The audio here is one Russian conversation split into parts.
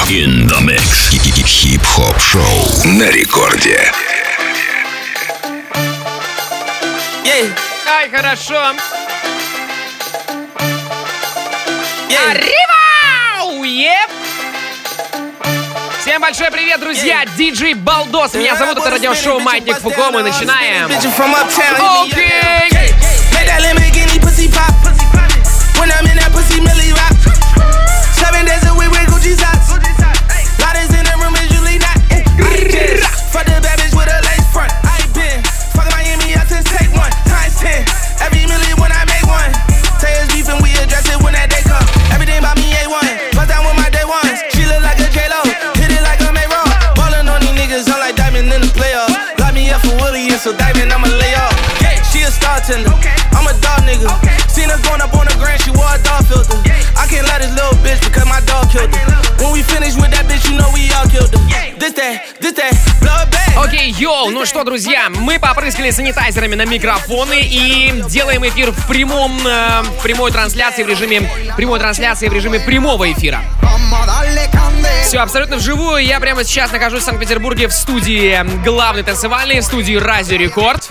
In the mix. Хип-хоп шоу на рекорде. Ай, хорошо. Arriba! Всем большой привет, друзья! Диджей Балдос. Меня зовут, это радиошоу Маятник Фуко. Мы начинаем. Окей! So diamond, I'ma lay off. She a star tender. I'm a dog nigga. Seen her going up on the grand, she wore a dog filter. I can't let this little bitch because my dog killed her. When we finish with that bitch, you know we all killed her. This that, blood bag. Окей, йоу, ну что, друзья, мы попрыскали санитайзерами на микрофоны и делаем эфир в прямой трансляции в режиме прямого эфира. Все абсолютно вживую. Я прямо сейчас нахожусь в Санкт-Петербурге в студии главной танцевальной, в студии Радио Рекорд.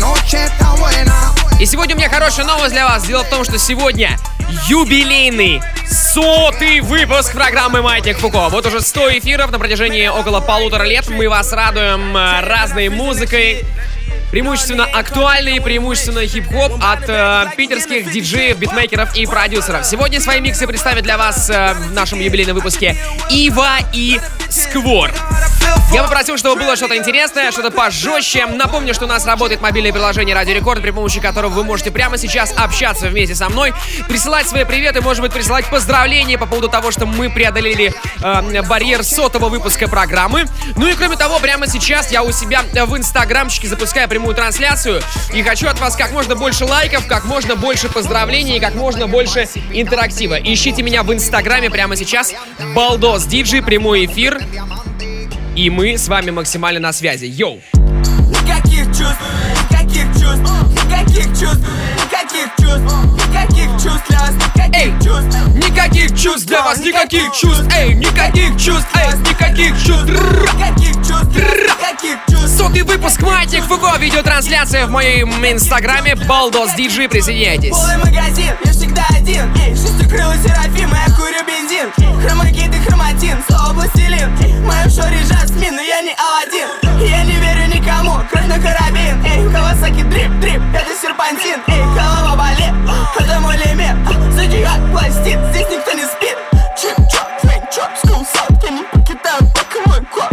И сегодня у меня хорошая новость для вас. Дело в том, что сегодня юбилейный 100-й выпуск программы «Маятник Фуко». Вот уже 100 эфиров на протяжении около 1,5 лет. Мы вас радуем разной музыкой, преимущественно актуальный, преимущественно хип-хоп от питерских диджеев, битмейкеров и продюсеров. Сегодня свои миксы представят для вас в нашем юбилейном выпуске Ива и Сквор. Я попросил, чтобы было что-то интересное, что-то пожестче. Напомню, что у нас работает мобильное приложение Радио Рекорд, при помощи которого вы можете прямо сейчас общаться вместе со мной, присылать свои приветы, может быть, присылать поздравления по поводу того, что мы преодолели барьер 100-го выпуска программы. Ну и кроме того, прямо сейчас я у себя в инстаграмчике запускаю прямую трансляцию и хочу от вас как можно больше лайков, как можно больше поздравлений и как можно больше интерактива. Ищите меня в инстаграме прямо сейчас. Балдос Диджей, прямой эфир. И мы с вами максимально на связи. Йоу! Никаких чувств, никаких чувств, никаких чувств, никаких чувств, никаких чувств для вас, никаких чувств. Никаких чувств для вас, никаких чувств, эй, никаких чувств, эй, никаких чувств. Никаких чувств, никаких чувств. 100-й выпуск Маятник Фуко, видеотрансляция в моем инстаграме Балдос Диджей, присоединяйтесь. Полный магазин, я всегда один, эй, шестикрылый серафим, я курю бензин. Хромакит и хроматин, слово пластилин. В моем шоре жасмин, но я не Аладдин. Я не верю никому, кровь на карабин. Эй, Кавасаки дрип, это серпантин. Эй, голова болит, это мой лимит. Зодиак пластит, здесь никто не спит. Чип-чоп, твинг-чоп, скул-сап, я не покидаю, пока мой квад.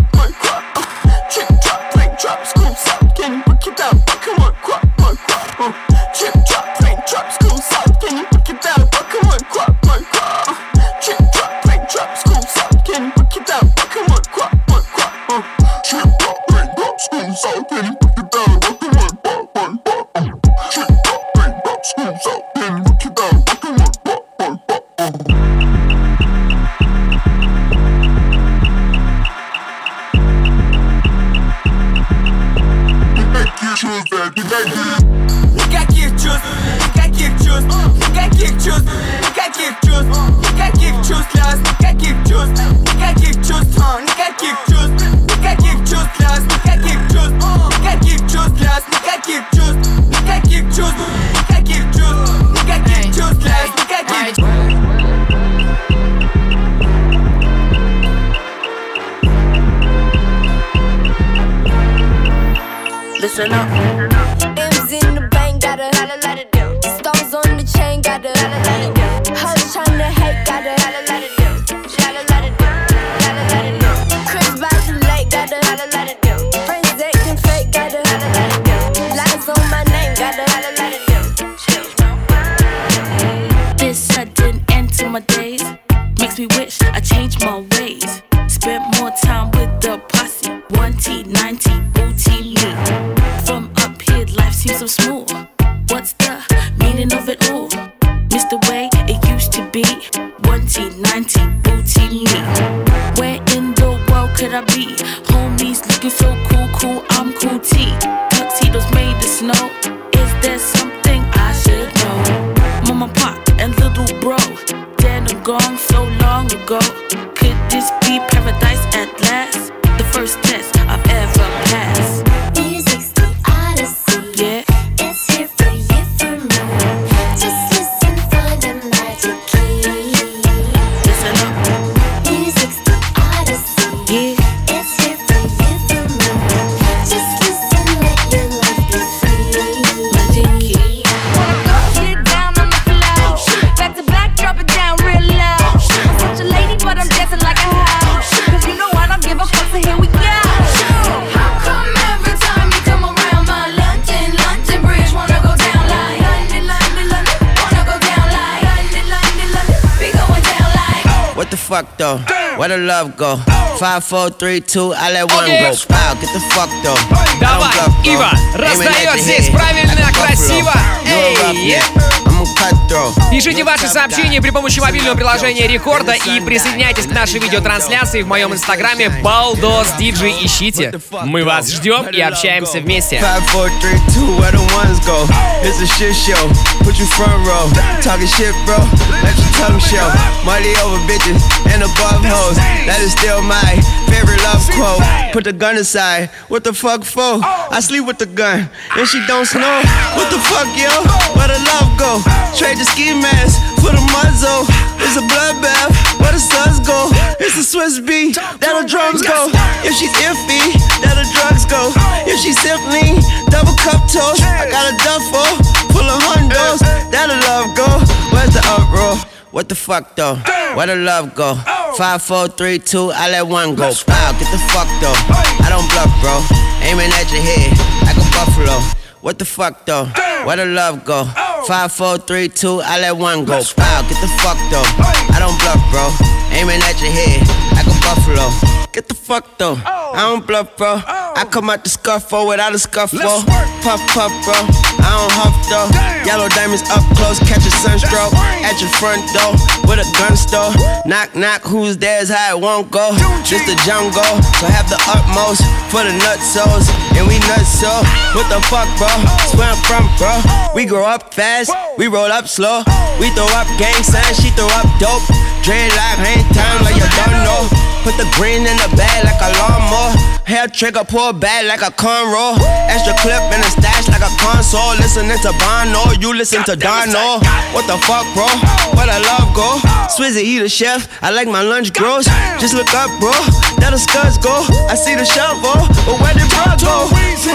Чип-чоп, твинг-чоп, скул-сап, я не покидаю, пока мой квад. Чип-чоп, твинг-чоп, скул-сап, я не покидаю, пока мой квад. Чип-чоп, твинг-чоп, скул-сап, я не покидаю, пока мой квад. Чип-чоп, твинг-чоп, скул-сап, я не покидаю, пока мой квад. Чип-чоп, твинг-чоп, скул-сап, я не покидаю, пока мой квад. Никаких чувств, никаких чувств, никаких чувств, никаких чувств, никаких чувств для вас, никаких чувств, никаких чувств, никаких чувств, никаких чувств для вас, никаких чувств, никаких чувств для вас, никаких чувств, никаких чувств, никаких чувств, никаких чувств для вас, никаких чувств. Listen up. M's in the bank, gotta let it do. Stones on the chain, gotta let it do. Hush tryna hate, gotta let it do. Let it do. Chris by the lake, gotta let it do. Friends acting fake, gotta let it do. Lies on my name, gotta let it do. This sudden end to my days makes me wish I changed my ways. Spent more time with the posse. 1T, 9T, booty me. From up here, life seems so smooth. What's the meaning of it all? Miss the way it used to be. 1T, 9T, booty me. Where in the world could I be? Homies looking so cool, I'm cool T. Tuxedos made of snow. Is there something I should know? Mama, pop, and little bro. Dead and gone so long ago. Could this be paradise at last? The first test I've ever passed. Music's the odyssey. Yeah. It's here for you, for me. Just listen for the magic key. Listen up. Music's the odyssey. Yeah. It's here for you, for me. Just listen, let your life be free. Magic key. Get down on the floor. Back to back, drop it down real low. I'm such a lady, but I'm dancing like a house. Cause you know I don't give a fuck, so here we go. How come every time you come around my London Bridge wanna go down like London, wanna go down like London, we going down like. What the fuck though? Where the love go? 5, 4, 3, 2, I let one go. Wow, get the fuck though. Давай, Ива, раздает здесь правильно, красиво. Эй! Пишите ваши сообщения при помощи мобильного приложения Рекорда и присоединяйтесь к нашей видеотрансляции в моем инстаграме Baldos DJ. Ищите. Мы вас ждем и общаемся вместе. 5, 4, 3, 2, where the ones go? It's a shit show. Put you front row. Talking shit, bro. Let your tongue show. Money over bitches and above hoes. That is still my favorite love quote. Put the gun aside. What the fuck for? I sleep with the gun and she don't snow. What the fuck, yo? Where the love go? Trade the ski mask for the muzzle. It's a bloodbath. Where the suns go? It's a Swiss beat. That the drums go. If she's iffy, that the drugs go. If she's simply double cup toast, I got a duffel full of hundos. That the love go. Where's the uproar? What the fuck though? Where the love go? 5, 4, 3, 2, I let one go. Wow, get the fuck though. I don't bluff, bro. Aiming at your head like a buffalo. What the fuck though? Where the love go? 5, 4, 3, 2, I let one go. Wow, get the fuck though. I don't bluff, bro. Aiming at your head like a buffalo. Get the fuck though. I don't bluff, bro. I come out the scuffle without a scuffle. Puff, puff, bro. I don't huff though. Yellow diamonds up close, catch a sunstroke. At your front door with a gun store. Knock, knock, who's there's how it won't go. Just the jungle, so have the utmost for the nutsos. And we nuts so. What the fuck, bro? That's where I'm from, bro. We grow up fast, we roll up slow. We throw up gang signs, she throw up dope. Dreadlock, hang time like you don't know. Put the green in the bag like a lawnmower. Hair trigger, pull back like a cornrow. Extra clip in the stash like a console. Listening to Bono, you listen to Dono. What the fuck, bro? Where the love go? Swizzy, he the chef, I like my lunch gross. Just look up, bro, there the scuds go. I see the shovel, but where did bro go?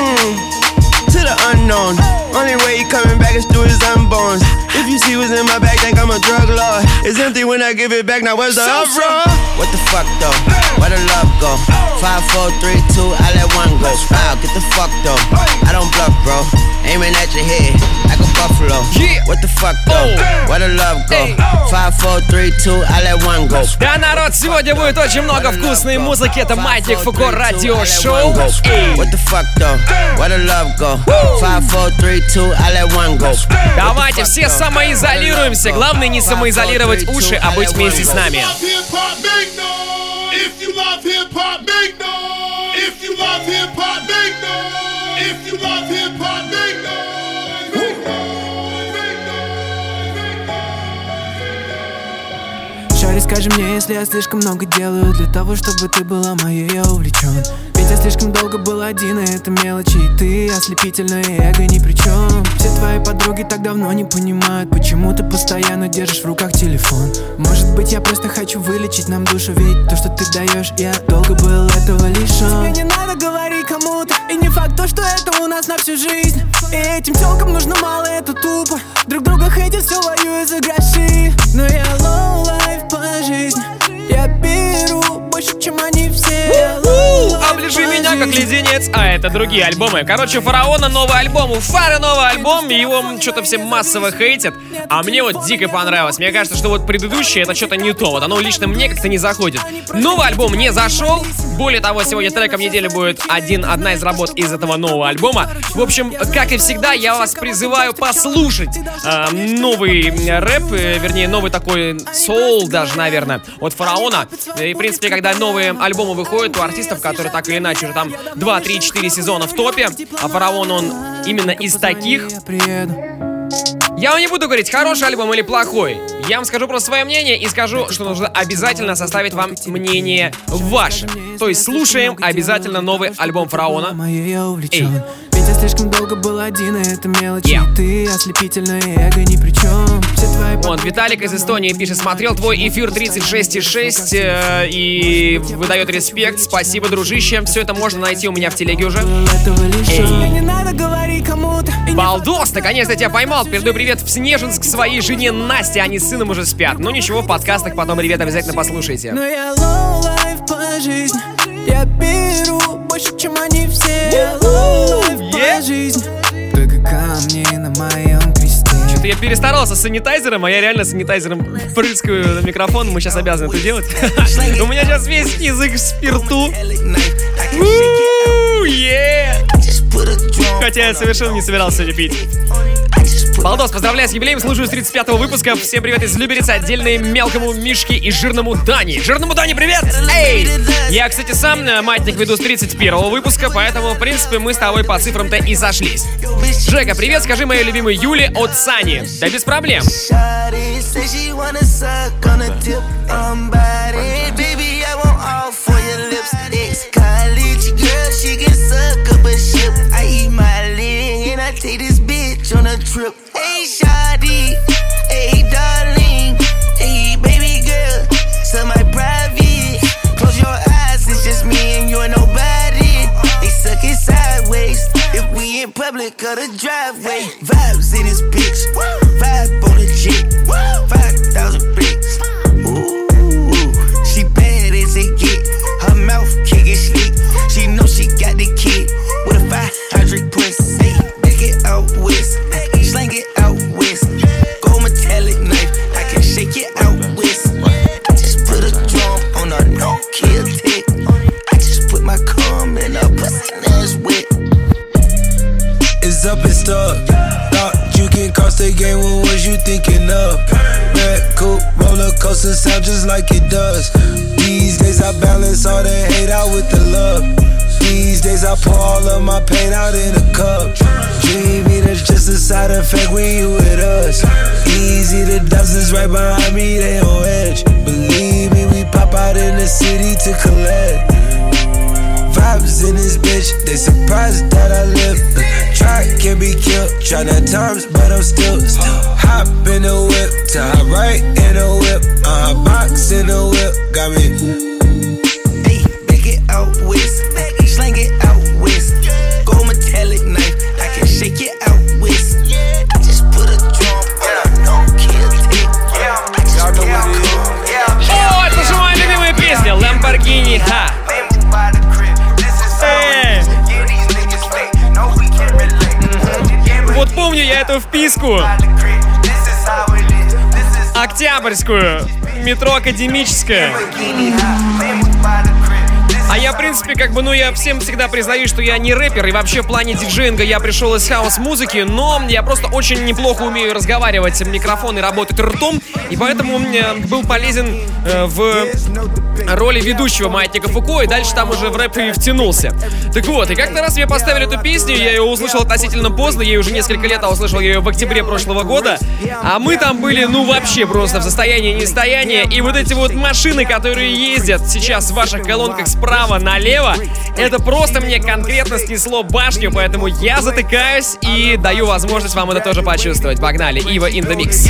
To the unknown. Only way he coming back is through his unborns. If you see what's in my bag, think I'm a drug lord. It's empty when I give it back, now where's the uproar? What the fuck though? Where the love go? 5, 4, 3, 2, I let one go. Wow, get the fuck though. I don't bluff, bro. Aiming at your head like a buffalo. What the fuck though? Where the love go? 5, 4, 3, 2, I let one go. Да, народ, сегодня будет очень много вкусной музыки. Это Маятник Фуко радиошоу. What the fuck though? Where the love go? 5, 4, 3, 2, I let one go. Давайте все самоизолируемся. Главное не самоизолировать уши, а быть вместе с нами. If you love hip hop, make noise. If you love hip hop, make noise. If you love hip hop, make noise. Make noise. Make noise. Шари, скажи мне, если я слишком много делаю для того, чтобы ты была моей, я увлечен. Ведь я слишком долго был один, и это мелочи, и ты ослепительное эго ни при чем. Все твои подруги так давно не понимают, почему ты постоянно держишь в руках телефон. Может быть, я просто хочу вылечить нам душу, ведь то, что ты даешь, я долго был этого лишен. Тебе не надо говорить кому-то, и не факт то, что это у нас на всю жизнь. И этим тёлкам нужно мало, это тупо. Друг друга хейтят, все воюют за гроши. Но я low life по жизни. Я беру больше, чем они все. Оближи меня как леденец, а это другие альбомы. Короче, у Фараона новый альбом, у Фары новый альбом, и его что-то все массово хейтят. А мне вот дико понравилось. Мне кажется, что вот предыдущее это что-то не то. Вот оно лично мне как-то не заходит. Новый альбом не зашел. Более того, сегодня треком недели будет одна из работ из этого нового альбома. В общем, как и всегда, я вас призываю послушать новый рэп, вернее, новый такой соул даже, наверное, от Фараона. И, в принципе, когда новые альбомы выходят у артистов, которые так или иначе уже там 2, 3, 4 сезона в топе, а Фараон, он именно из таких. Я вам не буду говорить, хороший альбом или плохой. Я вам скажу просто свое мнение и скажу, что нужно обязательно составить вам мнение ваше. То есть слушаем обязательно новый альбом Фараона. Эй. Ведь я слишком долго был один, и это мелочи. Ты ослепительное эго ни при чем. Вот, Виталик из Эстонии пишет: смотрел твой эфир 36,6 и выдает респект. Спасибо, дружище. Все это можно найти у меня в телеге уже. Балдос, наконец-то тебя поймал. Передаю привет в Снежинск своей жене Насте. Они с сыном уже спят. Ну ничего, в подкастах потом, ребята, обязательно послушайте. Но я лоу-лайф по жизни. Я беру больше, чем они все. Лоу-лайф по жизни. Только камни на моем кресте. Что-то я перестарался с санитайзером, а я реально санитайзером прыскаю на микрофон. Мы сейчас обязаны это делать. У меня сейчас весь язык в спирту. Хотя я совершенно не собирался сегодня пить. Балдос, поздравляю с юбилеем, слушаю с 35-го выпуска. Всем привет из Люберицы, отдельные мелкому Мишке и жирному Дани. Жирному Дани, привет! Эй! Я, кстати, сам маятник веду с 31-го выпуска, поэтому, в принципе, мы с тобой по цифрам-то и сошлись. Жека, привет, скажи моей любимой Юле от Сани. Да без проблем. On a trip, hey shawty, hey darling, hey baby girl, so my private. Close your eyes, it's just me and you and nobody. They suck it sideways if we in public or the driveway. Vibes in this bitch, vibe on the jet, 5,000 bricks. Ooh, she bad as it get. Her mouth can't get slick. She know she got the kid with a 500 pussy. Make it out west. Slang it out west. Gold metallic knife, I can shake it out west. I just put a drum on a no-kill tick. I just put my cum in a pussy that's wet. It's up and stuck. Thought you can cross the game, what was you thinking of? Red coupe, roller coaster sound just like it does. These days I balance all the hate out with the love. These days I pour all of my pain out in a cup. Dreaming that's just a side effect when you with us. Easy, the dozens right behind me, they on edge. Believe me, we pop out in the city to collect. Vibes in this bitch, they surprised that I live. Try can be killed, try not times, but I'm still hop in the whip, to hop right in the whip. Box in the whip, got me. Hey, back it out west. Slang it out west. Gold metallic knife, I can shake it out west. I just put a drum on a no-kill tick. I just put my cum. О, это же моя любимая песня Lamborghini Ha. Вот помню я эту вписку октябрьскую, метро Академическое. А я, в принципе, я всем всегда признаюсь, что я не рэпер, и вообще в плане диджеинга я пришел из хаус-музыки, но я просто очень неплохо умею разговаривать в микрофон и работать ртом, и поэтому был полезен в роли ведущего Маятника Фуко, и дальше там уже в рэп и втянулся. Так вот, и как-то раз мне поставили эту песню, я ее услышал относительно поздно, ей уже несколько лет, а услышал я ее в октябре прошлого года, а мы там были, вообще просто в состоянии нестояния, и вот эти вот машины, которые ездят сейчас в ваших колонках справа налево, это просто мне конкретно снесло башню, поэтому я затыкаюсь и даю возможность вам это тоже почувствовать. Погнали, Ива in the mix.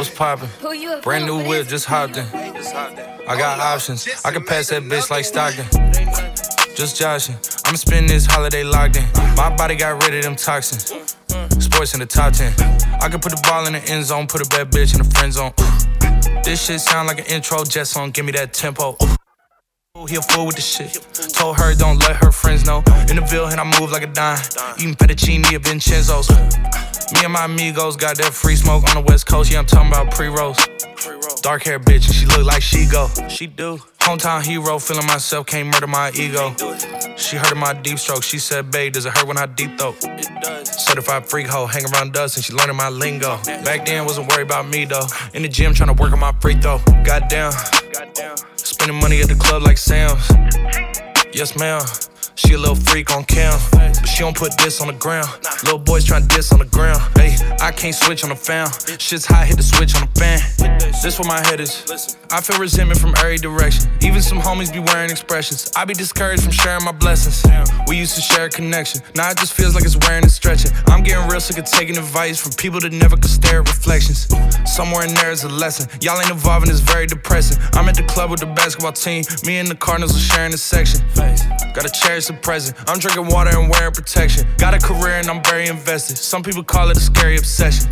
what's poppin'? Brand new whip, just hopped in. I got options, I can pass that bitch like Stockton. Just joshing, I'ma spend this holiday locked in. My body got rid of them toxins. Sports in the top 10. I can put the ball in the end zone, put a bad bitch in the friend zone. This shit sound like an intro jet song, give me that tempo. He a fool with the shit. Told her don't let her friends know. In the Ville and I move like a dime. Eating fettuccine at Vincenzo's. Me and my amigos got that free smoke on the West Coast. Yeah, I'm talking about pre-rolls. Dark hair bitch and she look like she go. She do. Hometown hero, feeling myself, can't murder my ego. She heard of my deep stroke. She said, babe, does it hurt when I deep throat? It does. Certified freak hoe, hang around us and she learning my lingo. Back then, wasn't worried about me though. In the gym, trying to work on my free throw. Goddamn. Spending money at the club like Sam's. Yes, ma'am. She a little freak on cam, but she don't put this on the ground. Little boys tryna diss on the ground. Hey, I can't switch on the fan. Shit's hot, hit the switch on the fan. This where my head is. I feel resentment from every direction. Even some homies be wearing expressions. I be discouraged from sharing my blessings. We used to share a connection. Now it just feels like it's wearing and stretching. I'm getting real sick of taking advice from people that never could stare at reflections. Somewhere in there is a lesson. Y'all ain't evolving, it's very depressing. I'm at the club with the basketball team. Me and the Cardinals are sharing a section. Gotta cherish the present. I'm drinking water and wearing protection. Got a career and I'm very invested. Some people call it a scary obsession.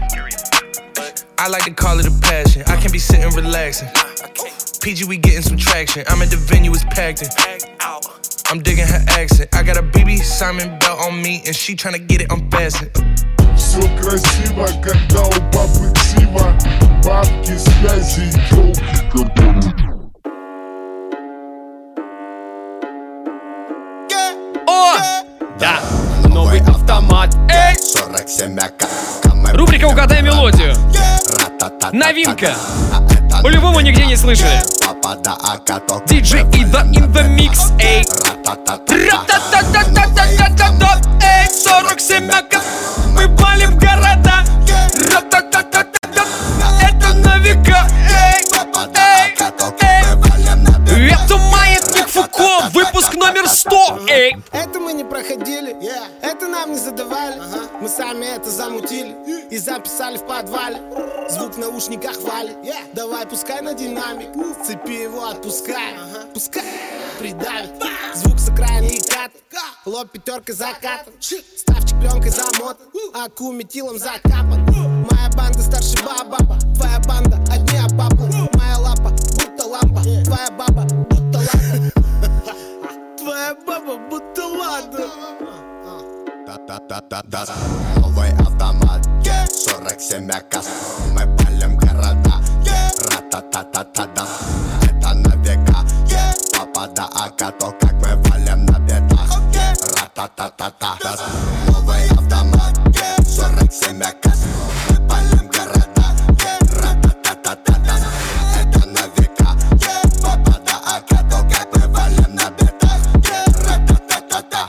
I like to call it a passion. I can't be sitting relaxing. PG, we getting some traction. I'm at the venue, it's packed in. I'm digging her accent. I got a BB Simon belt on me and she tryna get it unfastened. Все красиво, когда у бабы ксива. Бабки, связи, ёлки, которые... О! Да, новый автомат. Эй! Рубрика «Угадай мелодию». Новинка. По-любому нигде не слышали. DJ Ida in the mix. Эй! Эй, 47 аккорд. Мы палим города. Это на века. Эй! Эй! Эй! Это маятник Фуко. Выпуск номер 100. Эй! Это мы не проходили, это нам не задавали. Мы сами это замутили и записали в подвале. Звук в наушниках валит. Давай пускай на динамик, цепи его отпускай. Пускай придавит. Звук с окраины и кат. Лоб пятеркой закатан. Ставчик пленкой замотан, аку метилом закапан. Моя банда старше баба, твоя банда одни обапы. Моя лапа будто лампа, твоя баба будто лампа. Твоя баба будто ладно. Новый автомат, 47 аккорд. Мы палим города. Ра-та-та-та-та-да. Это на века. Попада ака, то как мы валим на бедах. Ра-та-та-та-та. Новый автомат, 47 аккорд. Мы палим города. Ра-та-та-та-та-да. Это на века. Попада ака, то как мы валим на бедах. Ра-та-та-та-та.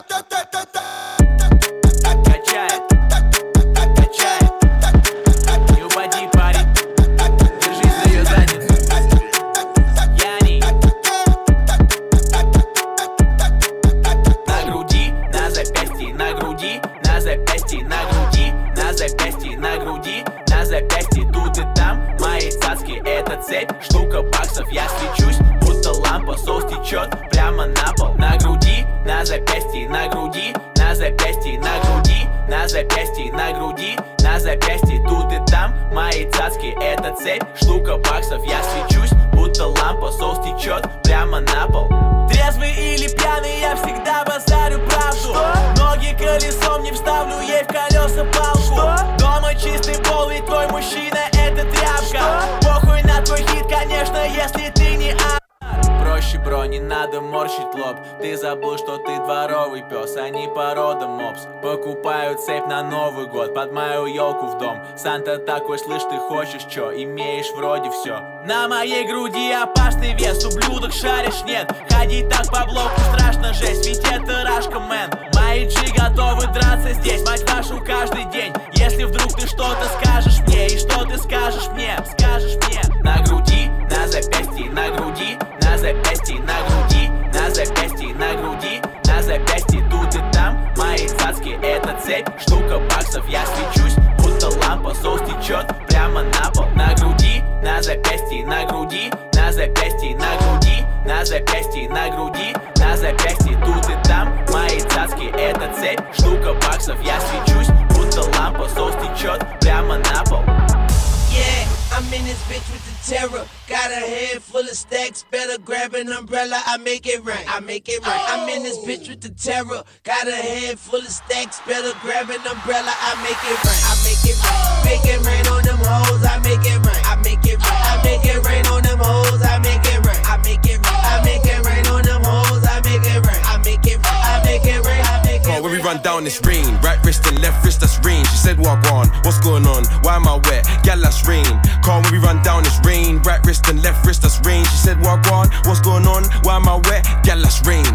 Штука баксов, я свечусь, будто лампа, соус течет прямо на пол. На груди, на запястье, на груди, на запястье, на груди, на запястье, на груди, на запястье, тут и там мои цацки, это цепь. Штука баксов, я свечусь, будто лампа, соус течет прямо на пол. Трезвый или пьяный, я всегда базарю правду. Ноги колесом не вставлю ей в колеса палку. Дома чистый пол, ведь твой мужчина это тряпка. Похуй на твой хит, конечно, если ты не проще, бро, не надо морщить лоб. Ты забыл, что ты дворовый пес, а не порода мопс. Покупаю цепь на Новый год, под мою елку в дом. Санта такой, слышь, ты хочешь чё? Имеешь вроде все. На моей груди опасный вес, ублюдок шаришь, нет. Ходить так по блоку страшно, жесть, ведь это рашка, мэн. Мои джи готовы драться здесь, мать вашу, каждый день. Если вдруг ты что-то скажешь мне, и что ты скажешь мне, на груди, на запястье, на груди, на запястье, на груди, на запястье, на груди, на запястье, тут и там мои цацки, это цепь, штука баксов, я свечусь, будто лампа, соус течет прямо на пол. terror. Got a head full of stacks, better grab an umbrella. I make it rain. I make it rain. I'm in this bitch with the terror. Got a head full of stacks, better grab an umbrella. I make it rain. I make it rain. Make it rain on them hoes. I make it rain. I make it rain. I make it rain on them hoes. I make it rain. I make it rain. I make it rain on them hoes. I make it rain. I make it rain. I make it rain. I make it rain. When we run down this rain, right wrist and left wrist, that's rain. She said, walk on, what's going on? Why am I wet? Gal, that's rain. Call when we run down this rain, right wrist and left wrist, that's rain. She said, walk on, what's going on? Why am I wet? Gal, that's rain.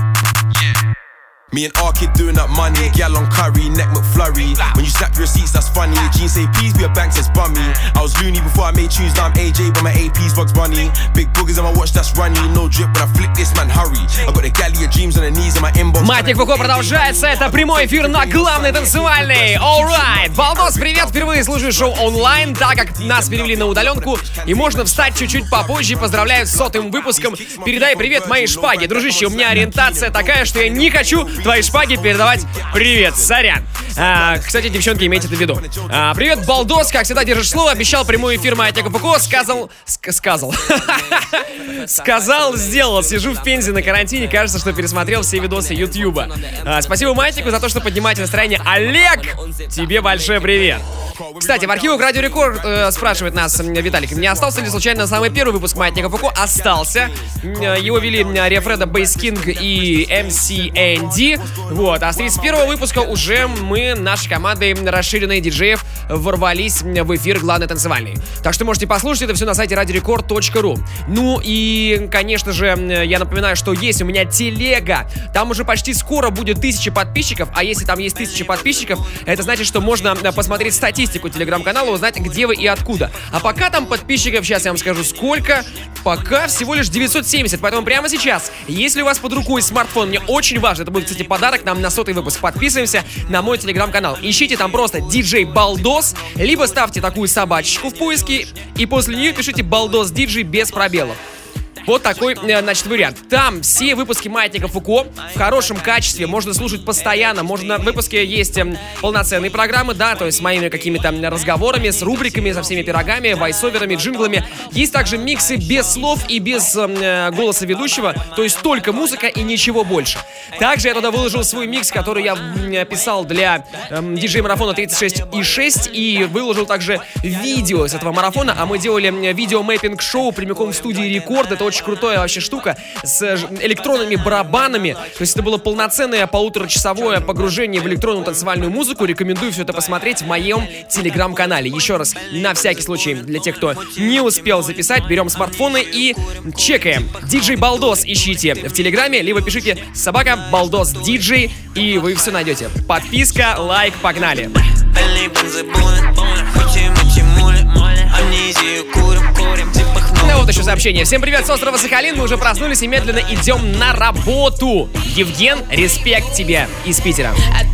Me and R-Kid doing up money, gal on curry, neck McFlurry. When you slap your receipts, that's funny. Jeans say peas, be a bank says bummy. I was loony before I made tunes, now I'm AJ, but my AP's Bugs Bunny. Big boogers on my watch, that's runny. No drip, when I flick this, man, hurry. I got the galley of dreams on the knees in my inbox. Маятник Фуко продолжается, это прямой эфир на главной танцевальной. Alright, Балдос, привет, впервые слушаю шоу онлайн, так как нас перевели на удаленку, и можно встать чуть-чуть попозже. Поздравляю с 100-м выпуском. Передай привет моей шпаге. Дружище, у меня ориентация такая, что я не хочу твоей шпаге передавать привет, сорян. Кстати, девчонки, имейте это в виду. Привет, Балдос, как всегда держишь слово. Обещал прямой эфир Маятника Фуко. Сказал, сделал. Сижу в Пензе на карантине. Кажется, что пересмотрел все видосы Ютьюба. Спасибо Маятнику за то, что поднимаете настроение. Олег, тебе большой привет. Кстати, в архивах Радио Рекорд спрашивает нас Виталик, не остался ли случайно самый первый выпуск Маятника Фуко? Остался. Его вели Рефреда, Бейс Кинг и MC&D. Вот, а с 31-го выпуска уже мы, нашей командой расширенной диджеев, ворвались в эфир главной танцевальной. Так что можете послушать это все на сайте radiorecord.ru. Ну и, конечно же, я напоминаю, что есть у меня телега. Там уже почти скоро будет 1000 подписчиков. А если там есть 1000 подписчиков, это значит, что можно посмотреть статистику телеграм-канала, узнать, где вы и откуда. А пока там подписчиков, сейчас я вам скажу сколько. Пока всего лишь 970. Поэтому прямо сейчас, если у вас под рукой смартфон, мне очень важно, это будет, кстати, подарок нам на 100-й выпуск. Подписываемся на мой телеграм-канал. Ищите там просто DJ Балдос, либо ставьте такую собачечку в поиске, и после нее пишите Балдос DJ без пробелов. Вот такой, значит, вариант. Там все выпуски Маятника Фуко в хорошем качестве, можно слушать постоянно. Можно, в выпуске есть полноценные программы, да, то есть с моими какими-то разговорами, с рубриками, со всеми пирогами, вайсоверами, джинглами. Есть также миксы без слов и без голоса ведущего, то есть только музыка и ничего больше. Также я туда выложил свой микс, который я писал для диджей-марафона 36,6, и выложил также видео с этого марафона, а мы делали видео-мэппинг-шоу прямиком в студии Рекорд. Это очень крутая вообще штука с электронными барабанами. То есть это было полноценное 1,5-часовое погружение в электронную танцевальную музыку. Рекомендую все это посмотреть в моем телеграм-канале. Еще раз, на всякий случай, для тех, кто не успел записать, берем смартфоны и чекаем. DJ Балдос ищите в телеграме, либо пишите собака Балдос DJ, и вы все найдете. Подписка, лайк, погнали. Ну вот еще сообщение. Всем привет с острова Сахалин. Мы уже проснулись и медленно идем на работу. Евген, респект тебе из Питера.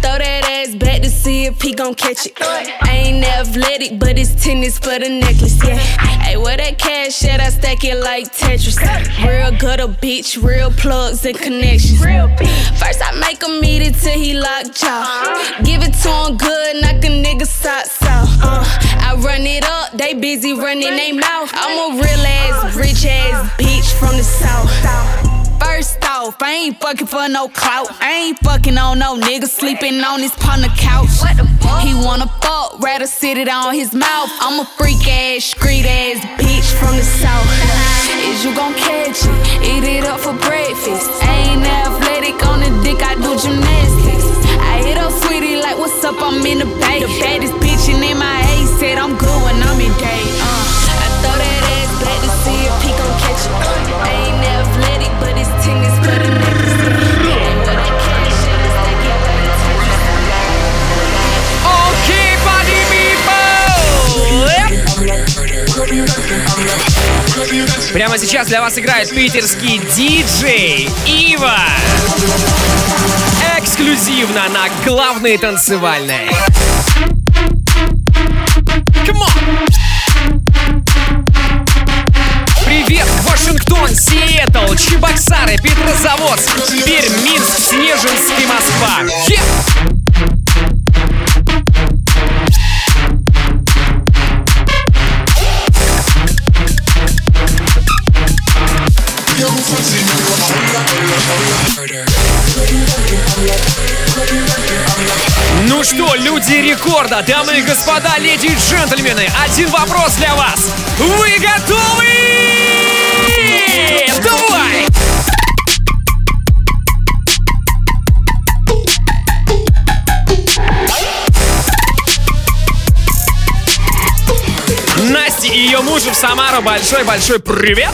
I run it up, they busy running they mouth. I'm a real ass, rich ass bitch from the south. First off, I ain't fucking for no clout. I ain't fucking on no nigga sleeping on his partner couch. He wanna fuck, rather sit it on his mouth. I'm a freak ass, street ass bitch from the south. Is you gon' catch it? Eat it up for breakfast. I ain't athletic on the dick, I do gymnastics. I hit up sweetie like, what's up, I'm in the bay. The baddest bitch in my A said I'm good when I'm in day. I throw that ass back to see if he gon' catch it. I ain't athletic, but his ting is better than Okay, party people! Прямо сейчас для вас играет питерский диджей Ива. Эксклюзивно на главной танцевальной. Come on! Привет, Вашингтон, Сиэтл, Чебоксары, Петрозаводск, Пермь, Минск, Снежинск и Москва. Ну что, люди рекорда, дамы и господа, леди и джентльмены, один вопрос для вас. Вы готовы? Давай! Насте и ее мужу в Самару большой-большой привет!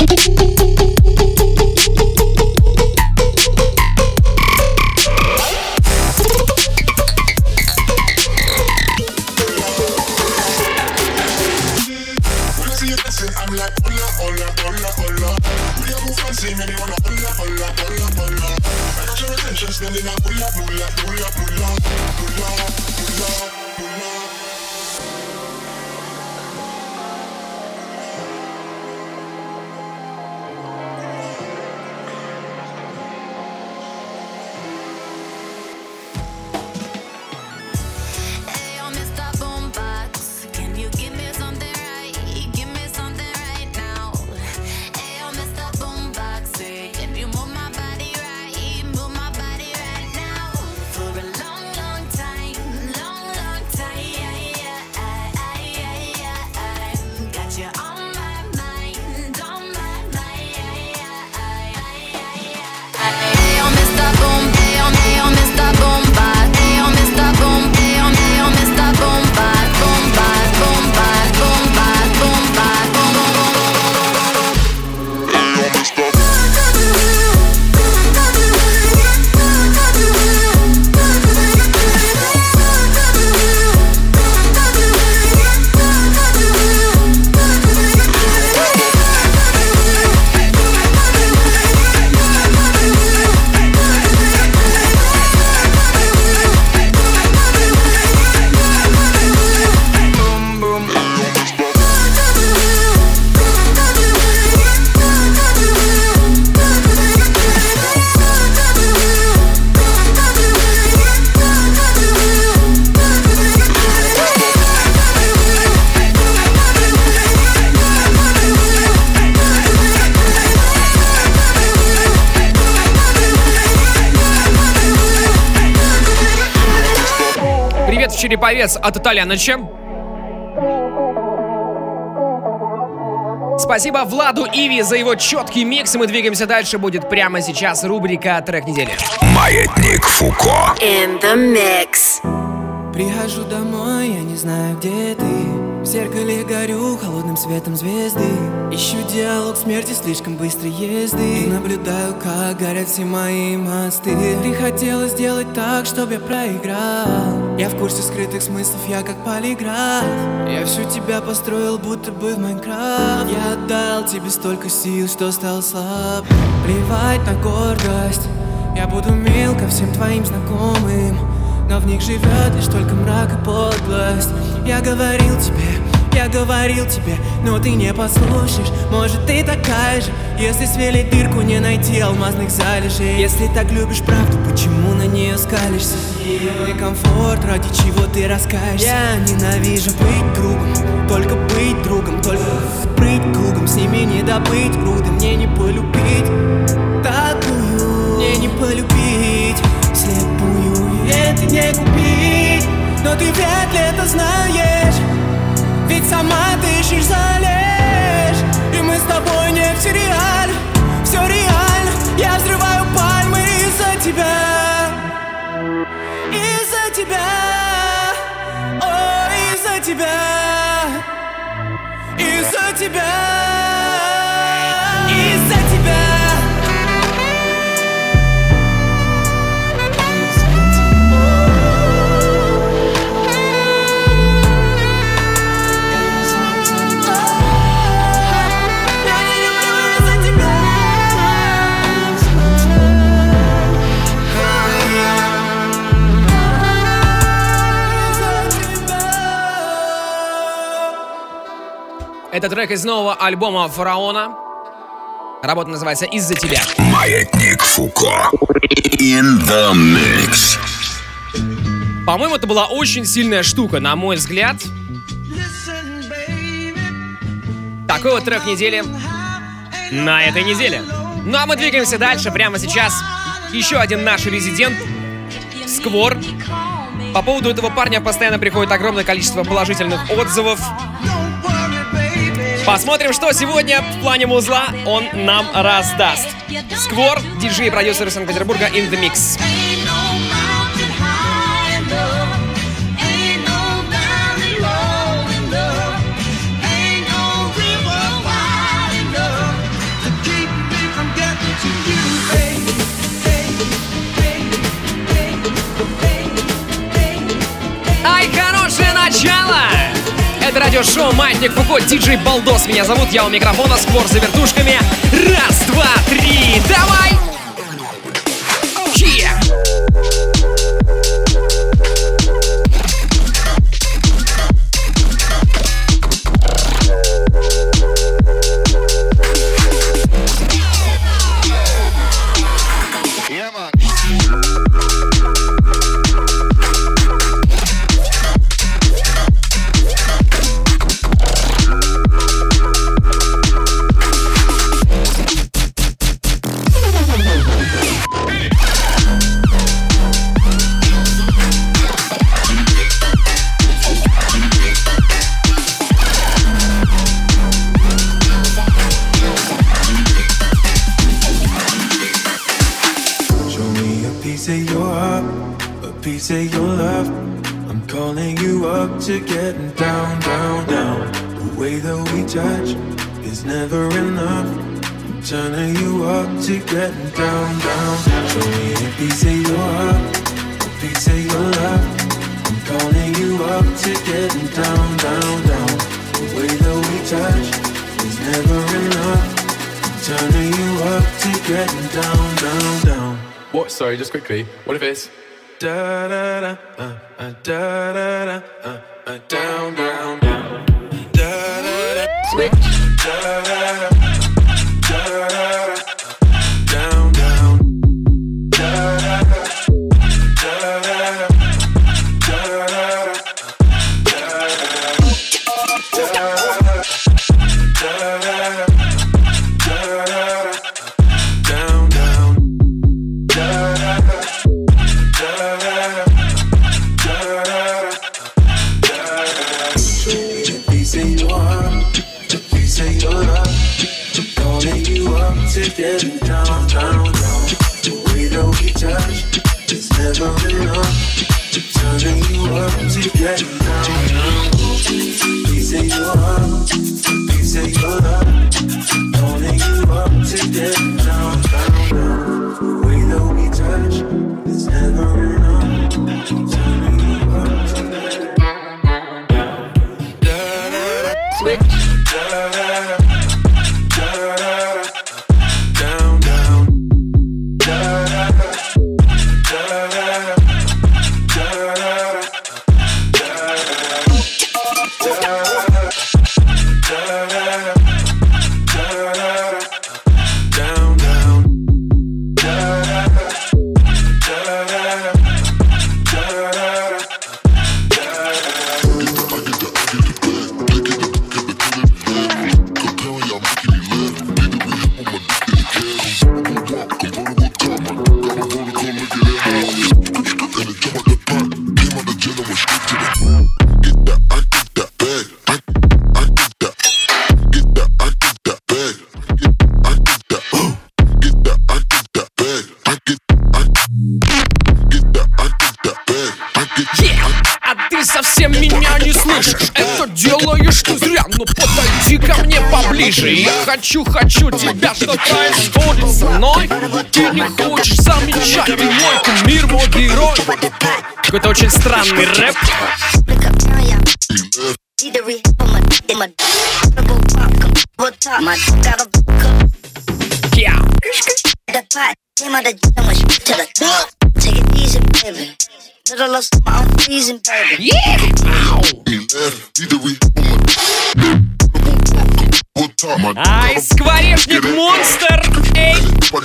Череповец от Итальяныча. Спасибо Владу Иви за его четкий микс. И мы двигаемся дальше. Будет прямо сейчас рубрика «Трек недели». Маятник Фуко. In the mix. Прихожу домой, я не знаю, где ты. В зеркале горю холодным светом звезды. Ищу диалог смерти слишком быстрой езды. И наблюдаю, как горят все мои мосты. Ты хотела сделать так, чтобы я проиграл. Я в курсе скрытых смыслов, я как полиграф. Я всю тебя построил, будто бы в Майнкрафт. Я отдал тебе столько сил, что стал слаб. Плевать на гордость, я буду мил ко всем твоим знакомым. Но в них живет лишь только мрак и подлость. Я говорил тебе, но ты не послушаешь. Может, ты такая же, если свели дырку, не найти алмазных залежей. Если так любишь правду, почему на нее скалишься? Мой комфорт, ради чего ты раскаешься. Я ненавижу быть другом, только быть другом, только быть кругом. С ними не добыть руды, мне не полюбить такую, мне не полюбить слепую, это не купить. Но ты вряд ли это знаешь, ведь сама дышишь, залежь. И мы с тобой не в сериале, все реально. Я взрываю пальмы из-за тебя, из-за тебя, о, из-за тебя, из-за тебя, из-за тебя. Это трек из нового альбома Фараона. Работа называется «Из-за тебя». Маятник Фуко. In the mix. По-моему, это была очень сильная штука, на мой взгляд. Такой вот трек недели на этой неделе. Ну а мы двигаемся дальше. Прямо сейчас еще один наш резидент Сквор. По поводу этого парня постоянно приходит огромное количество положительных отзывов. Посмотрим, что сегодня в плане музла он нам раздаст. Сквор, диджей и продюсер из Санкт-Петербурга, in the mix. Ай, хорошее начало! Это радиошоу «Маятник Фуко», диджей Балдос. Меня зовут, я у микрофона, Сквор за вертушками. Раз, два, три, давай! To getting down, down, down. The way that we touch is never enough. I'm turning you up to getting down, down. Show me a piece of your heart, a piece of your love. I'm calling you up to getting down, down, down. The way that we touch is never enough. I'm turning you up to getting down, down, down. What? Sorry, just quickly. What if it's da da da da da da down, down, down, da da da, switch, da da da, da da da, down, down, da da da, da da da, da da da, down, down, getting down, down, down. The way that we touch is never enough. Turning you up to getting down, down. Piece of your heart, piece of your love. Calling you up to getting down, down, down. The way that we touch is never enough. Turning you up to getting down, down, down. Switch, da da da. Я хочу тебя, что происходит со мной. Ты не хочешь замечать, ты мой кумир, мой герой. Какой-то очень странный рэп. Ай, скворечник монстр! Эй!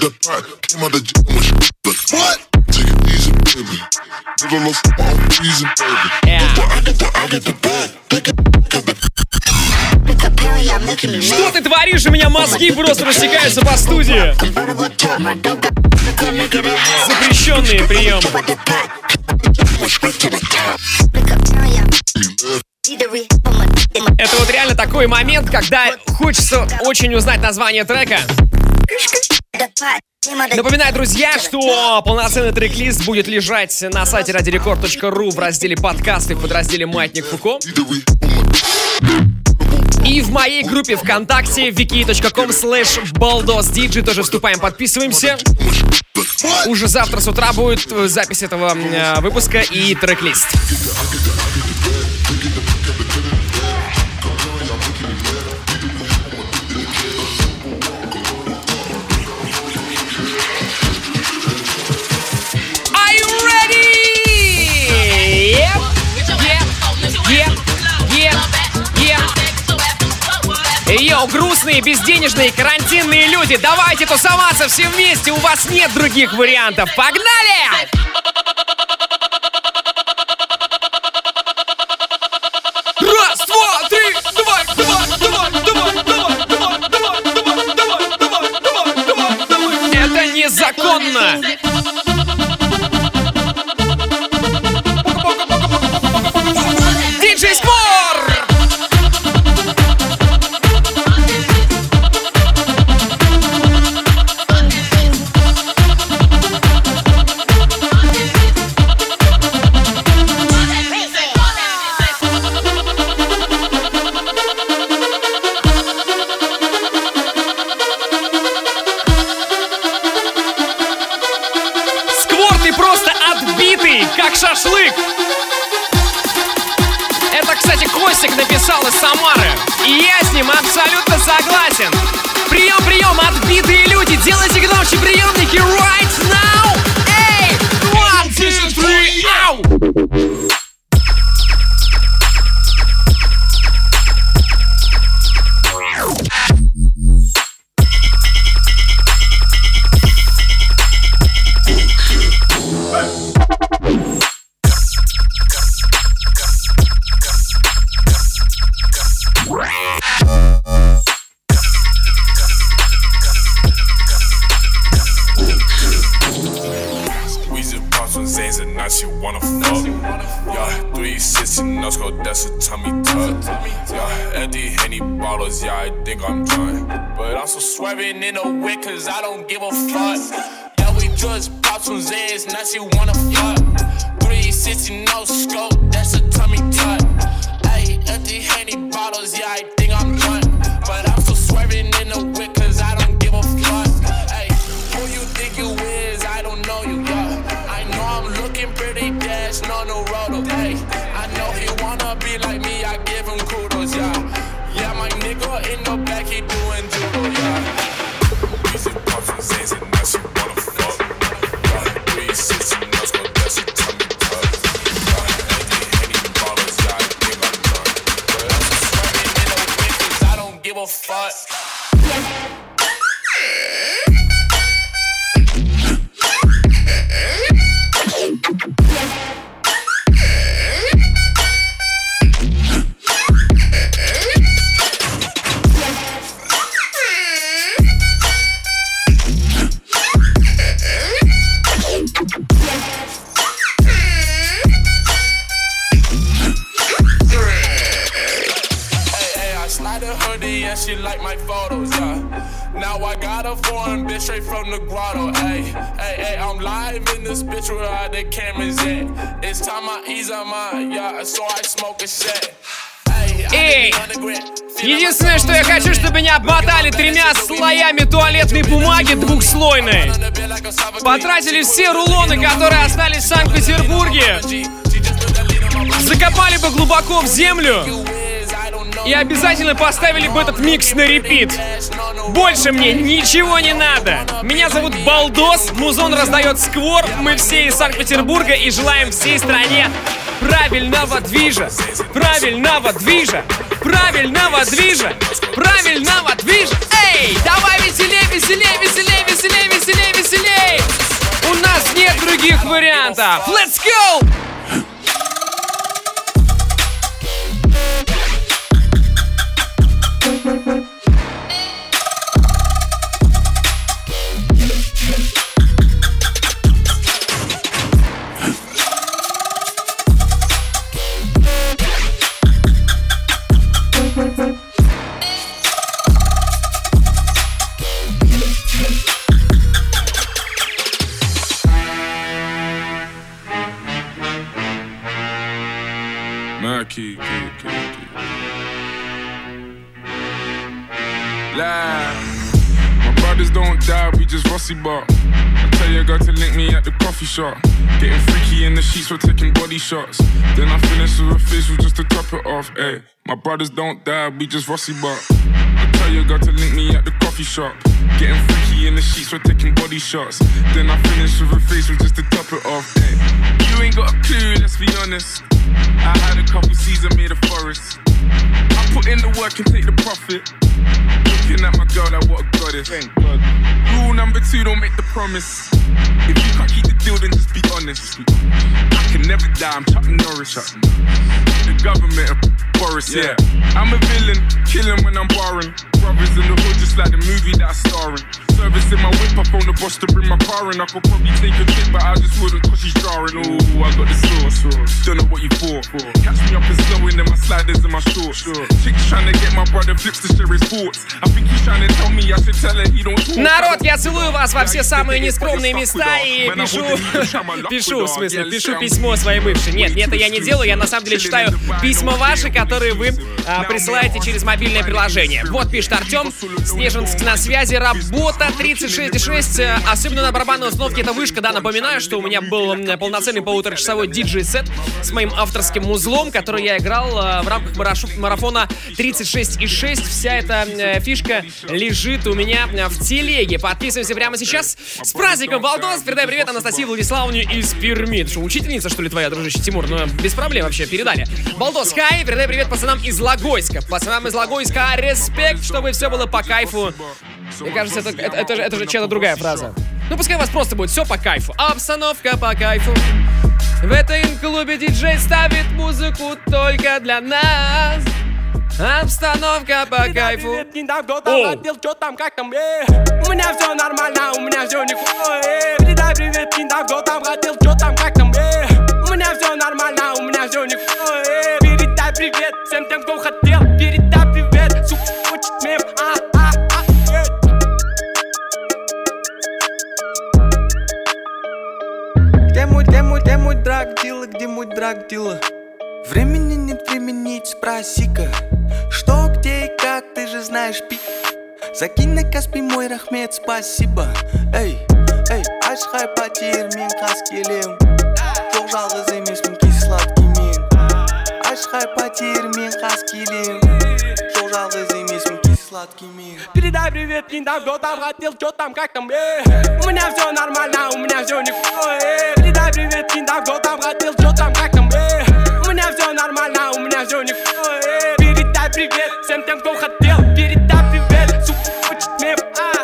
Что ты творишь? У меня мозги просто растекаются по студии. Запрещенные приемы. Это вот реально такой момент, когда хочется очень узнать название трека. Напоминаю, друзья, что полноценный трек-лист будет лежать на сайте radiorecord.ru в разделе подкасты в подразделе «Маятник Фуко». И в моей группе ВКонтакте wiki.com/baldosdj тоже вступаем, подписываемся. Уже завтра с утра будет запись этого выпуска и трек-лист. Йоу, грустные, безденежные, карантинные люди, давайте тусоваться все вместе, у вас нет других вариантов. Погнали! Раз, два, три, давай. Это незаконно! Диджей Сквор! Как шашлык! Это, кстати, Костик написал из Самары. И я с ним абсолютно согласен. Прием, отбитые люди, делайте громче приемники right now! Эй! 1, 2, 3, ау! Swerving in the wick, cause I don't give a fuck. Yeah, we just pop some Z's, now she wanna fuck. 360 no scope, that's a tummy tuck. Ayy, empty Henny bottles, yeah, I think I'm drunk. But I'm still swerving in the wick, cause I don't give a fuck. Ayy, who you think you is, I don't know you, yeah. I know I'm looking pretty dash, no roto, ayy. I know he wanna be like me, I give him kudos, yeah. Yeah, my nigga in the back, he doing judo, yeah. Music pops and Z's and now she wanna fuck. 360 no scope, that's a tummy tuck. Empty Henny bottles, yeah, I think I'm drunk. But I'm just swerving in the wind, cause I don't give a fuck. She like my photos, yeah. Now I got a foreign bitch straight from the grotto, ayy. I'm live in this bitch where all the cameras at. It's time I ease on mine, yeah, so I smoke a set. Эй! Единственное, что я хочу, чтобы меня обмотали 3 слоями туалетной бумаги двухслойной. Потратили все рулоны, которые остались в Санкт-Петербурге. Закопали бы глубоко в землю. И обязательно поставили бы этот микс на репит. Больше мне ничего не надо. Меня зовут Балдос, музон раздает Сквор. Мы все из Санкт-Петербурга и желаем всей стране правильного движа. Правильного движа. Правильного движа. Правильного движа. Эй, давай веселей, веселей, веселей, веселей, веселей, веселей. У нас нет других вариантов. Let's go! key. My brothers don't die, we just Rossi bar. I tell your girl to link me at the coffee shop. Getting freaky in the sheets, we're taking body shots. Then I finish with a facial just to top it off. Ay, my brothers don't die, we just Rossi bar. I tell your girl to link me at the coffee shop. Getting freaky in the sheets, we're taking body shots. Then I finish with a facial just to top it off. Ay, you ain't got a clue, let's be honest. I had a couple seasons made a forest. I put in the work and take the profit. Looking at my girl like what a goddess. Rule number 2, don't make the promise. If you can't keep the deal, then just be honest. I can never die, I'm Chuck Norris. The government of Boris, yeah. I'm a villain, killing when I'm barring. Brothers in the hood, just like the movie that I'm starring. Service in my whip, I phone the boss to bring my car in. I could probably take a trip, but I just wouldn't cause she's jarring. Ooh, I got the sauce. Don't know what you for. Catch me up and slowing in my sliders and my shorts. Chicks trying to get my brother flips to share his thoughts. I think he's trying to tell me I should tell her he don't talk. Народ, я целую вас во все самые нескромные места и пишу письмо своей бывшей. Нет, это я не делаю, я на самом деле читаю письма ваши, которые вы присылаете через мобильное приложение. Вот пишет Артем, Снежинск на связи, работа 36,6, особенно на барабанной установке это вышка, да, напоминаю, что у меня был полноценный полуторачасовой диджей-сет с моим авторским музлом, который я играл в рамках марафона 36,6. Вся эта фишка лежит у меня в телеге. Подписываемся прямо сейчас. С праздником, Балдос! Передай привет Анастасии Владиславовне из Перми. Ты что, учительница, что ли, твоя, дружище Тимур? Ну, без проблем вообще, передали. Балдос, хай! Передай привет пацанам из Логойска. Пацанам из Логойска, респект, чтобы все было по кайфу. Мне кажется, это же чья-то другая фраза. Ну, пускай у вас просто будет все по кайфу. Обстановка по кайфу. В этом клубе диджей ставит музыку только для нас. Обстановка по кайфу. У меня все нормально, у меня все никакое. Передай привет, Кинда, кто там хотел, что там, как там, У меня все нормально, у меня все никакое. Передай привет всем тем, кто хотел. Передай привет, сука, хочет мем, Где мой драг-дилер, где мой драг-дилер? Времени нет, времени, спроси-ка. Что, где и как, ты же знаешь, пи. Закинь на Каспий мой рахмет, спасибо. Эй, ашхай потер, мен қас келем. Жоқ жалғыз емеспін, кей сладкий мен. Ашхай потер, мен қас келем. Жоқ жалғыз емеспін, кей сладкий мен. Передай привет, Кинда, кто там хотел, что там, как там, У меня все нормально, у меня все никакое. Передай привет, Кинда, кто там хотел, что там, как там, У меня все нормально, у меня все никакое. Передай привет всем тем, кто хотел. Передай привет, сука, хочет мем.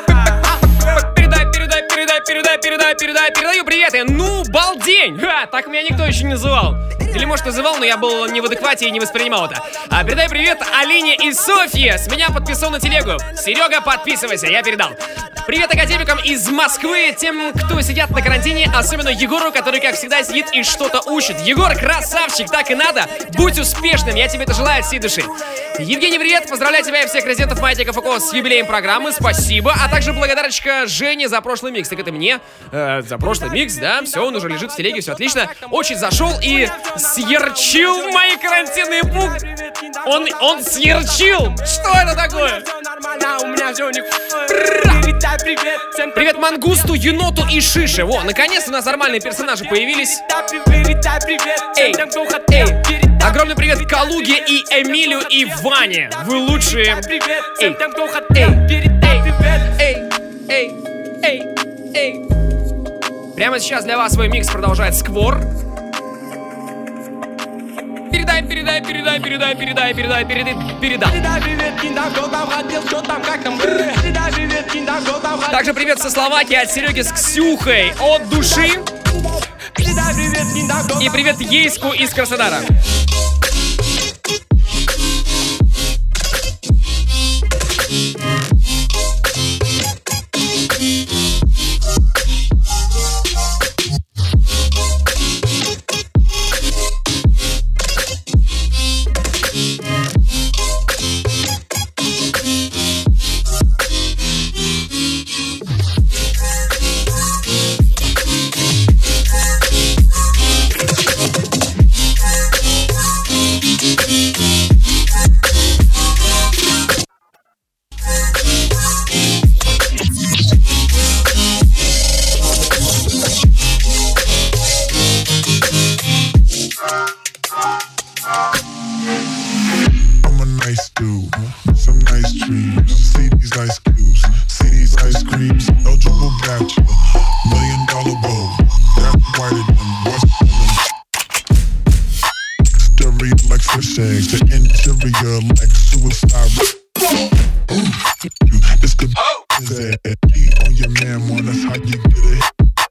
Передаю приветы. Ну, балдень! Так меня никто еще не называл. Или, может, называл, но я был не в адеквате и не воспринимал это. Передай привет Алине и Софье. С меня подписал на телегу. Серега, подписывайся, я передал. Привет академикам из Москвы, тем, кто сидят на карантине, особенно Егору, который, как всегда, сидит и что-то учит. Егор, красавчик, так и надо. Будь успешным, я тебе это желаю от всей души. Евгений, привет, поздравляю тебя и всех резидентов Маятника ФК с юбилеем программы, спасибо. А также благодарочка Жене за прошлый микс. Так это мне за прошлый микс, да, все, он уже лежит в телеге, все отлично. Очень зашел и съерчил мои карантинные пункты. Он съерчил. Что это такое? Привет Мангусту, Еноту и Шише. Во, наконец-то у нас нормальные персонажи появились. Эй, огромный привет Калуге и Эмилю и Ване. Вы лучшие. Эй. Прямо сейчас для вас свой микс продолжает Сквор. Передай. Также привет со Словакии от Сереги с Ксюхой от души. И привет Ейску из Краснодара. piercing, the interior like suicide. This could be on your man, one, that's how you get it.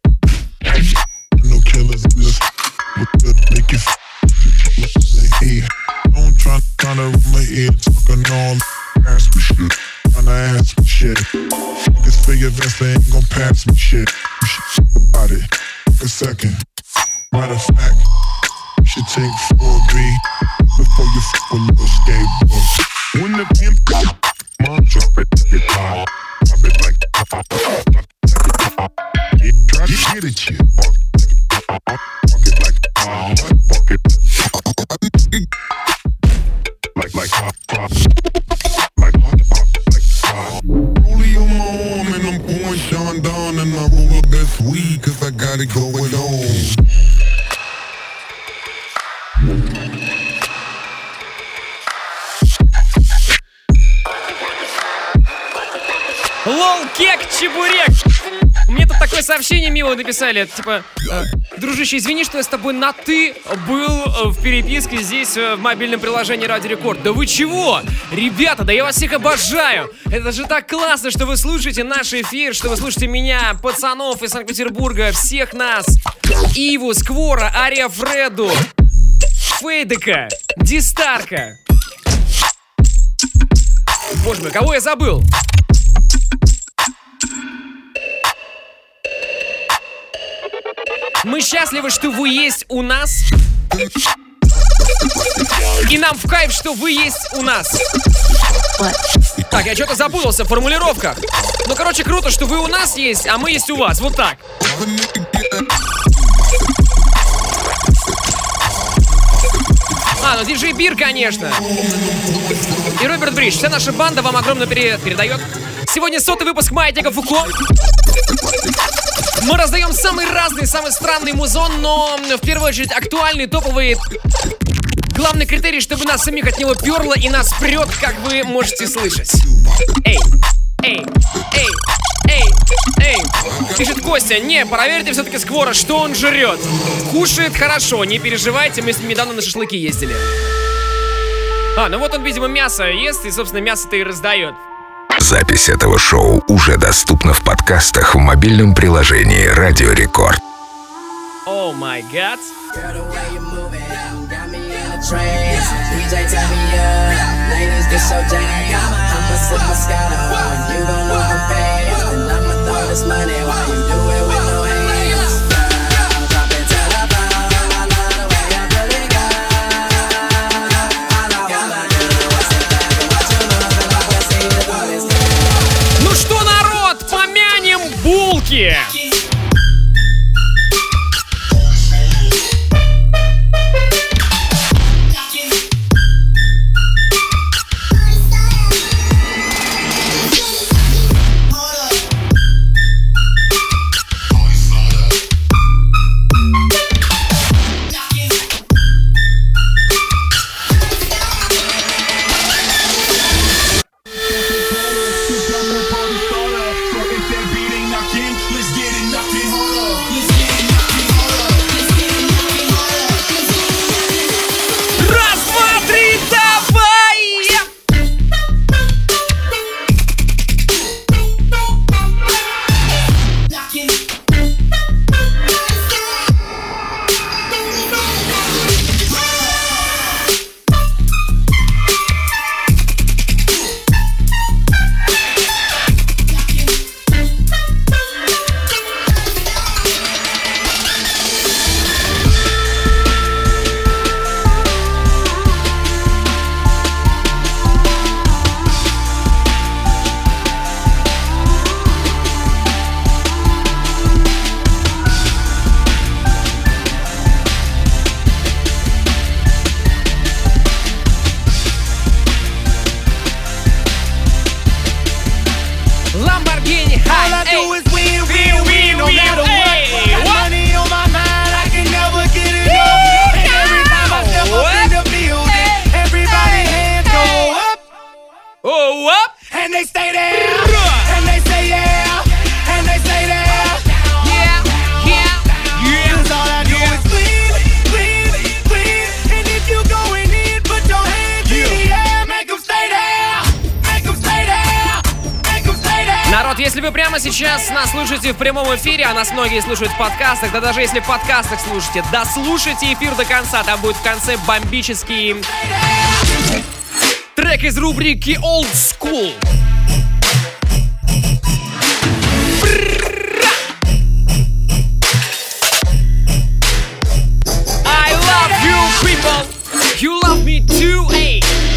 No killers in this with the make you hey, don't try to run my ear talking all ass me shit. Tryna ask me shit. Niggas figure vest, they ain't gon' pass me shit. You should think about it. A second. Matter of fact, you should take 4B before you fuck with little skateboard. When the pimp mom drop it, get high. Drop it like try to get it, you fuck it like fuck it like hot pop. Rollie on my arm and I'm pouring Sean down and I roll the best weed cause I got it going on. Лол, кек, чебурек. Мне тут такое сообщение мило написали. Типа, дружище, извини, что я с тобой на «ты» был в переписке здесь, в мобильном приложении Радио Рекорд. Да вы чего? Ребята, да я вас всех обожаю. Это же так классно, что вы слушаете наш эфир, что вы слушаете меня, пацанов из Санкт-Петербурга, всех нас. Иву, Сквора, Ария Фреду, Фейдека, Дистарка. Боже мой, кого я забыл? Мы счастливы, что вы есть у нас. И нам в кайф, что вы есть у нас. Так, я что-то запутался в формулировках. Ну, короче, круто, что вы у нас есть, а мы есть у вас. Вот так. Ну диджей Бир, конечно. И Роберт Бридж. Вся наша банда вам огромно передает. Сегодня 100-й выпуск Маятника Фуко. Мы раздаем самый разный, самый странный музон, но в первую очередь актуальный, топовый. Главный критерий, чтобы нас самих от него перло и нас прет, как вы можете слышать. Эй, эй, эй, эй, эй. Пишет Костя, не, проверьте все-таки Сквора, что он жрет. Кушает хорошо, не переживайте, мы с ним недавно на шашлыки ездили. Ну вот он, видимо, мясо ест, и, собственно, мясо-то и раздает. Запись этого шоу уже доступна в подкастах в мобильном приложении Радио Рекорд. О май гад. Булки! вы прямо сейчас нас слушаете в прямом эфире, а нас многие слушают в подкастах, да даже если в подкастах слушаете, дослушайте эфир до конца, там будет в конце бомбический трек из рубрики Old School. I love you people, you love me too, hey.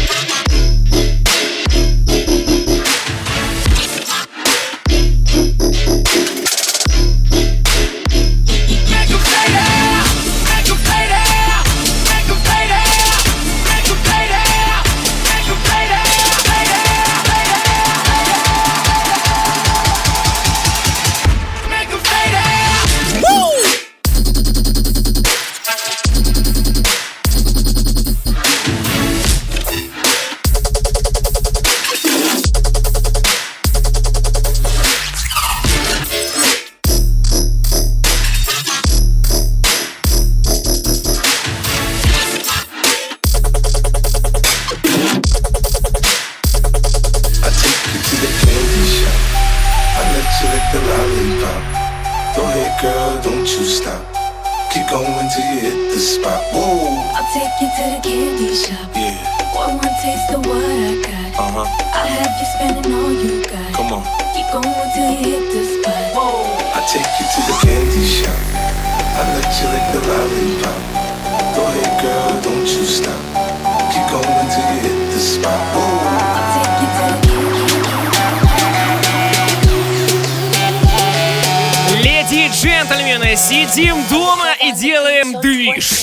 Леди и джентльмены, сидим дома и делаем движ.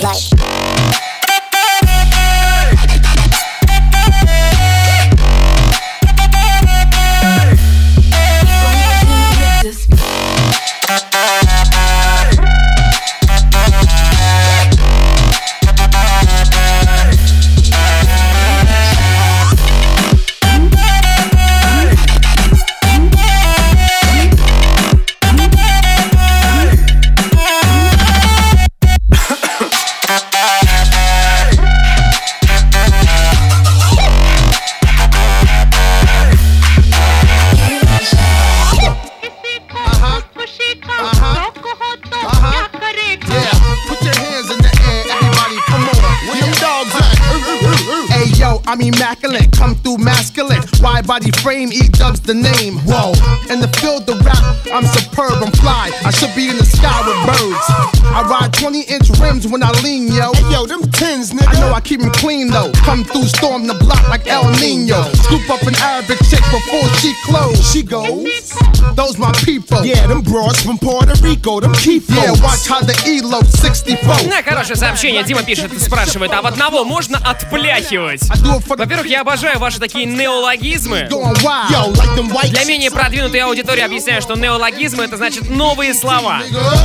I'm immaculate, come through masculine. Wide body frame, E-dubs the name. Whoa, in the field of rap, I'm superb, I'm fly. I should be in the sky with birds. I ride 20-inch rims when I lean, yo. Hey, yo, them tins, nigga. I know I keep them clean, though. Come through, storm the block like El Nino. Scoop up an Arabic chick before she close. She goes, those my people. Yeah, them broads from Puerto Rico, them keep. Yeah, watch how the E-load 64. На хорошее сообщение Дима пишет и спрашивает, а в одного можно отпляхивать? Во-первых, я обожаю ваши такие неологизмы. Для менее продвинутой аудитории объясняю, что неологизмы — это значит новые слова.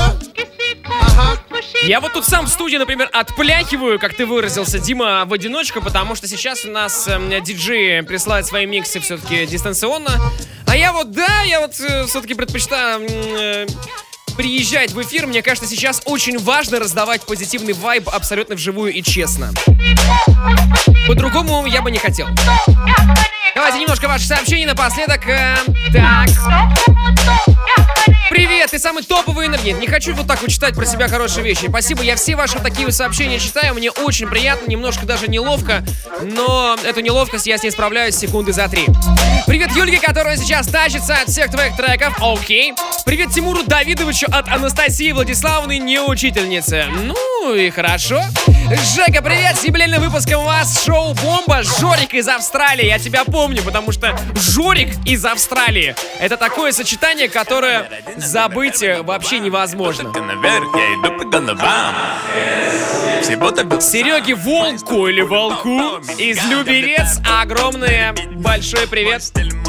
Я вот тут сам в студии, например, отпляхиваю, как ты выразился, Дима, в одиночку, потому что сейчас у нас диджеи присылают свои миксы все-таки дистанционно. А я вот все-таки предпочитаю приезжать в эфир. Мне кажется, сейчас очень важно раздавать позитивный вайб абсолютно вживую и честно. По-другому я бы не хотел. Давайте немножко ваших сообщений напоследок. Так. Привет, ты самый топовый. Нет, не хочу вот так вот читать про себя хорошие вещи. Спасибо, я все ваши такие сообщения читаю. Мне очень приятно, немножко даже неловко. Но эту неловкость я с ней справляюсь секунды за 3. Привет Юльке, которая сейчас тащится от всех твоих треков. Окей. Привет Тимуру Давидовичу от Анастасии Владиславовны, не учительницы. Ну и хорошо. Жека, привет, с юбилейным выпуском у вас шоу «Бомба». Жорик из Австралии, я тебя помню, потому что Жорик из Австралии — это такое сочетание, которое забыть вообще невозможно. Сереге Волку или Волку из Люберец огромное большой привет.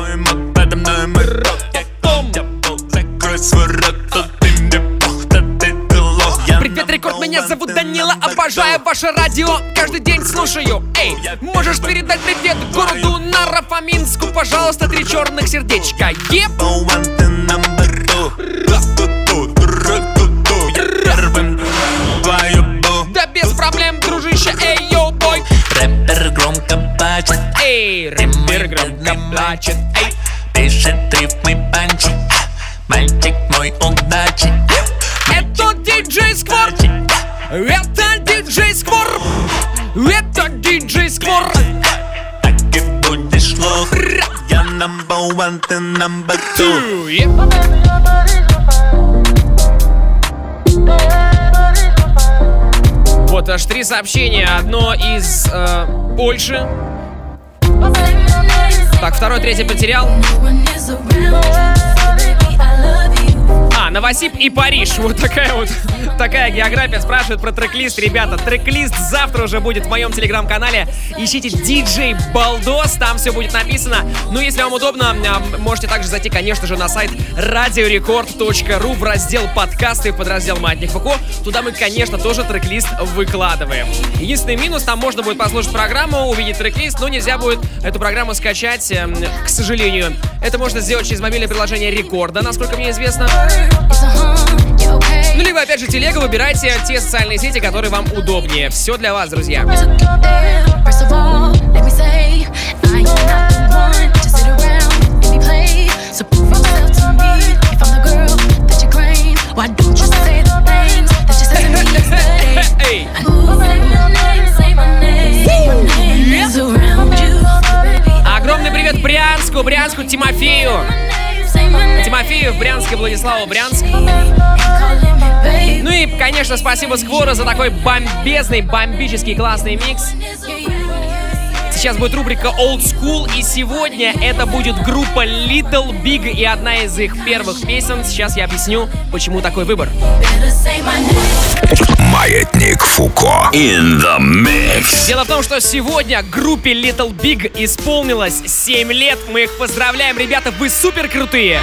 Привет, рекорд, меня зовут Данила, обожаю ваше радио, каждый день слушаю. Эй, можешь передать привет городу Наро-Фоминску, пожалуйста, 3 черных сердечка. Еп! Да без проблем, дружище, эй, йоу, бой. Рэпер громко плачет, эй, рэпер громко плачет, эй. Пишет рифмы панчи, мальчик мой удачи. Это диджей Сквор. Это диджей Сквор. Это диджей Сквор. Так и будешь лох. Я number one, ты number two. Вот аж 3 сообщения. Одно из Польши. Так, второй, третий потерял. Новосиб и Париж. Вот такая география. Спрашивают про трек-лист. Ребята, трек-лист завтра уже будет в моем телеграм-канале. Ищите DJ Балдос, там все будет написано. Ну, если вам удобно, можете также зайти, конечно же, на сайт radiorecord.ru в раздел подкасты, в подраздел Маятник Фуко. Туда мы, конечно, тоже трек-лист выкладываем. Единственный минус, там можно будет послушать программу, увидеть трек-лист, но нельзя будет эту программу скачать, к сожалению. Это можно сделать через мобильное приложение Рекорда, насколько мне известно. Ну, либо, опять же, телега, выбирайте те социальные сети, которые вам удобнее. Все для вас, друзья. Огромный привет Брянску, Тимофею в Брянске, Владиславу Брянск. Ну и, конечно, спасибо Сквору за такой бомбический классный микс. Сейчас будет рубрика Old School, и сегодня это будет группа Little Big и одна из их первых песен. Сейчас я объясню, почему такой выбор. Маятник Фуко in the mix. Дело в том, что сегодня группе Little Big исполнилось 7 лет. Мы их поздравляем, ребята, вы супер крутые.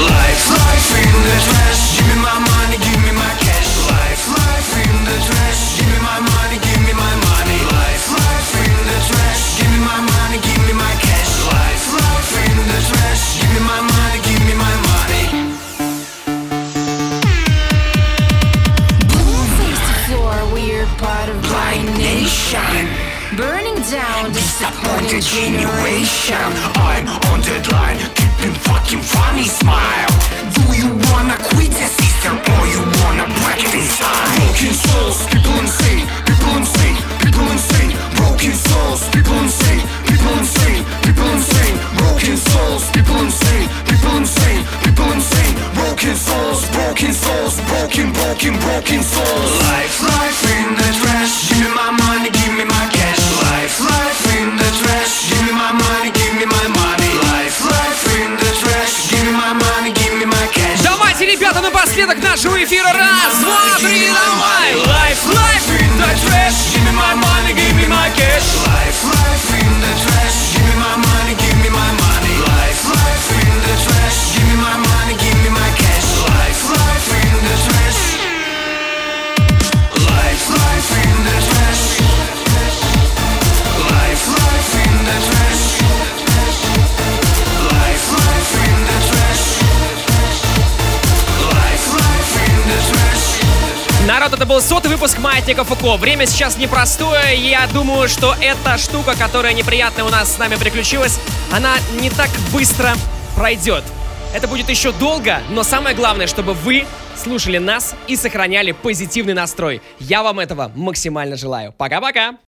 Burning down disappointed generation. I'm on deadline, keeping fucking funny smile. Do you wanna quit your sister or you wanna break it inside? Broken souls, people insane, people insane, people insane. Broken souls, people insane, people insane, people insane. Broken souls, people insane, people insane, people insane. Broken souls, broken souls, broken souls. Life in the trash. Give me my money, give me my cash. Life in the trash. Give me my money, give me my money. Life in the trash. Give me my money, give me my cash. Давайте, ребята, напоследок нашего эфира. Раз, два, три, давай! Life in the trash. Give me my money, give me my cash. Life in the trash. Give me my money, give me my money. Life in the trash. Give me my money, give me my cash. Life in the trash. Life in the trash. Life in the trash. Life in the trash. Life in the trash. Народ, это был 100-й выпуск Маятника Фуко. Время сейчас непростое. Я думаю, что эта штука, которая неприятная у нас с нами приключилась, она не так быстро пройдет. Это будет еще долго, но самое главное, чтобы вы слушали нас и сохраняли позитивный настрой. Я вам этого максимально желаю. Пока-пока!